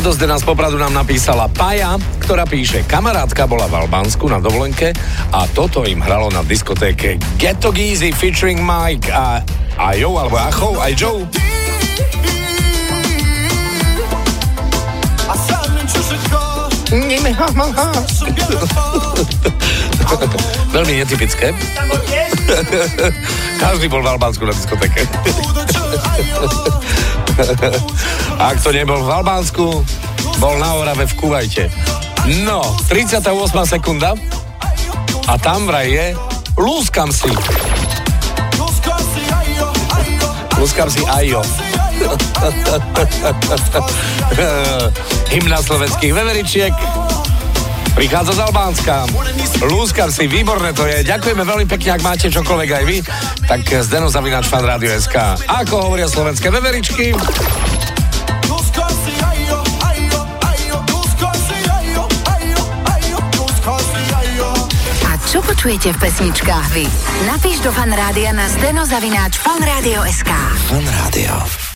A do Zdena z Popradu nám napísala Paja, ktorá píše: kamarátka bola v Albánsku na dovolenke a toto im hralo na diskotéke Get to Geezy featuring Mike a Ajo, alebo Acho, aj Joe. Veľmi netypické. Každý bol v Albánsku na diskotéke. A ak to nebol v Albánsku, bol na Orave v Kuvajte. No, 38. sekunda a tam vraj je Lúskam si. Lúskam si Ajo. Hymna slovenských veveričiek prichádza z Albánska. Lúskam si, výborné to je. Ďakujeme veľmi pekne, ak máte čokoľvek aj vy, tak zdeno@fanradio.sk. Ako hovoria slovenské veveričky? A čo počujete v pesničkách vy? Napíš do Fanrádia na zdeno@fanradio.sk. Fanrádio.